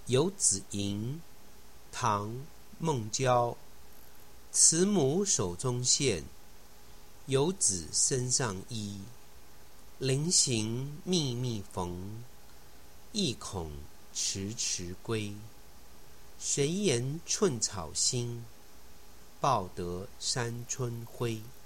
遊子吟，唐·孟郊。慈母手中線，游子身上衣。臨行密密縫，意恐遲遲歸。誰言寸草心，報得三春暉。